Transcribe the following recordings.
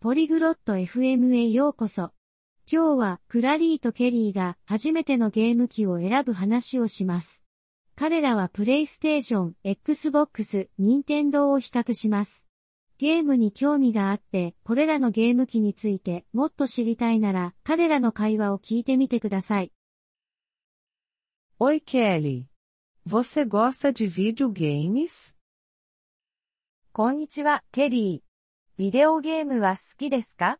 ポリグロット FM へようこそ。今日はクラリーとケリーが初めてのゲーム機を選ぶ話をします。彼らはプレイステーション、Xbox、任天堂を比較します。ゲームに興味があって、これらのゲーム機についてもっと知りたいなら、彼らの会話を聞いてみてください。 Oi Kelly. Você gosta de videogames? こんにちは、ケリー。ビデオゲームは好きですか？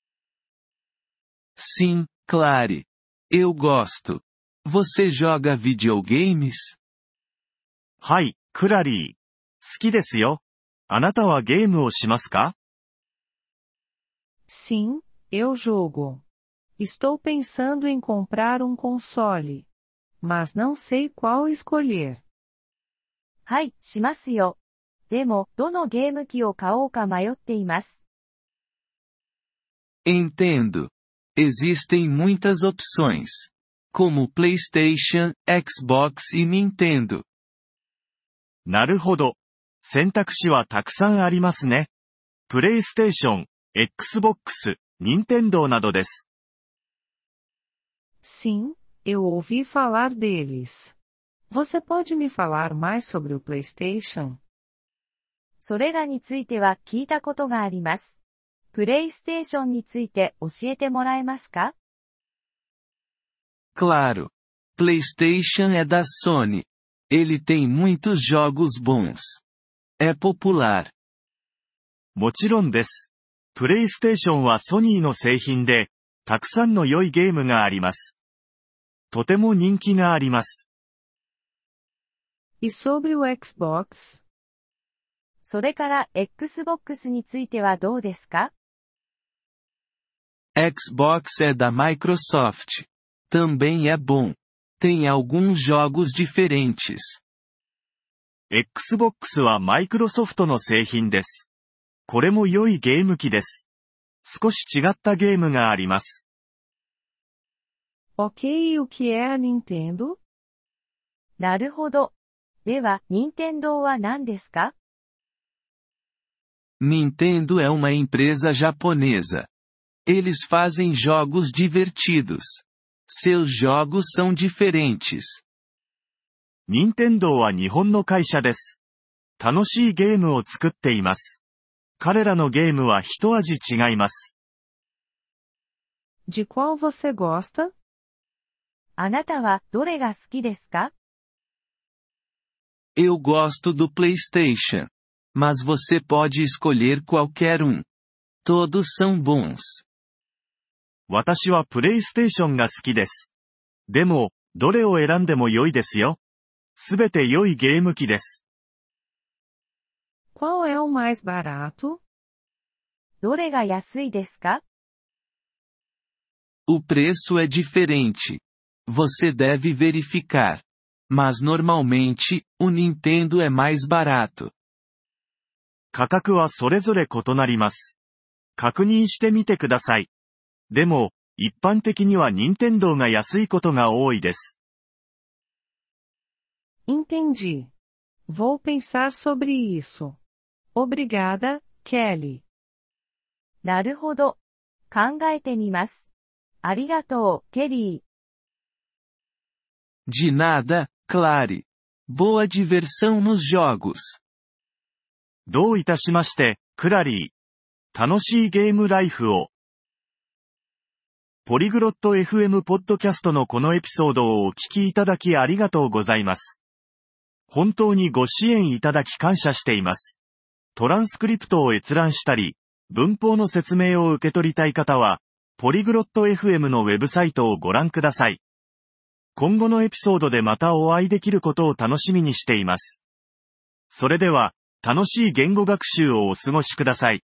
Sim, Clary. Eu gosto. Você joga videogames? はい、クラリー。好きですよ。あなたはゲームをしますか？ Sim, eu jogo. Estou pensando em comprar console. Mas não sei qual escolher. はい、しますよ。でも、どのゲーム機を買おうか迷っています。 Entendo. Existem muitas opções. Como PlayStation, Xbox e Nintendo. なるほど。選択肢はたくさんありますね。プレイステーション、Xbox、任天堂などです。 Sim, eu ouvi falar deles. Você pode me falar mais sobre o PlayStation? それらについては聞いたことがあります。プレイステーションについて教えてもらえますか？ Claro. PlayStation é da Sony. Ele tem muitos jogos bons. É popular. もちろんです。プレイステーションはソニーの製品で、たくさんの良いゲームがあります。とても人気があります。 E sobre o Xbox? それから Xbox についてはどうですか？ Xbox é da Microsoft. Também é bom. Tem alguns jogos diferentes. Xbox はマイクロソフトの製品です。これも良いゲーム機です。少し違ったゲームがあります。 Ok, e o que é a Nintendo? なるほど。では、任天堂は何ですか？ Nintendo é uma empresa japonesa. Eles fazem jogos divertidos. Seus jogos são diferentes. 任天堂は日本の会社です。楽しいゲームを作っています。彼らのゲームは一味違います。 De qual você gosta? あなたはどれが好きですか？ Eu gosto do PlayStation. Mas você pode escolher qualquer um. Todos são bons. 私はプレイステーションが好きです。でも、どれを選んでも良いですよ。すべて良いゲーム機です。 Qual é o mais barato? どれが安いですか？ O preço é diferente. Você deve verificar. Mas normalmente, o Nintendo é mais barato. 価格はそれぞれ異なります。確認してみてください。でも、一般的には任天堂が安いことが多いです。 Entendi. Vou pensar sobre isso. Obrigada, Kelly. なるほど。考えてみます。ありがとう、ケリー。 De nada, Clary. Boa diversão nos jogos. どういたしまして、クラリー。楽しいゲームライフを。ポリグロット FM ポッドキャストのこのエピソードをお聞きいただきありがとうございます。本当にご支援いただき感謝しています。トランスクリプトを閲覧したり、文法の説明を受け取りたい方は、ポリグロット FM のウェブサイトをご覧ください。今後のエピソードでまたお会いできることを楽しみにしています。それでは、楽しい言語学習をお過ごしください。